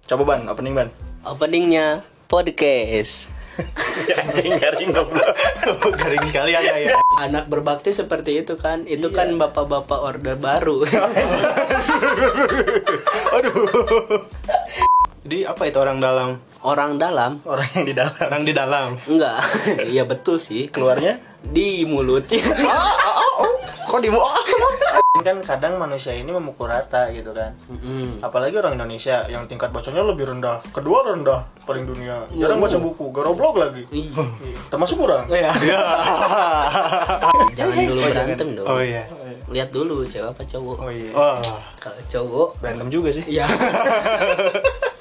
Coba Ban, opening Ban. Openingnya podcast. Anjing garing goblok. Garing sekali Anda ya. Anak berbakti seperti itu kan. Itu kan bapak-bapak orde baru. Aduh. Jadi apa itu orang dalam? Orang dalam? Orang yang di dalam. Orang di dalam. Enggak. Iya betul sih. Keluarnya Di mulut. kok di kan kadang manusia ini memukul rata gitu kan. Apalagi orang Indonesia yang tingkat bacanya lebih rendah. Kedua rendah paling dunia. Jarang baca buku, garoblok lagi. Termasuk orang. Iya. Jangan dulu berantem dong. Oh iya. Lihat dulu cewek apa cowok. Oh iya. Kalau cowok Berantem juga sih. iya.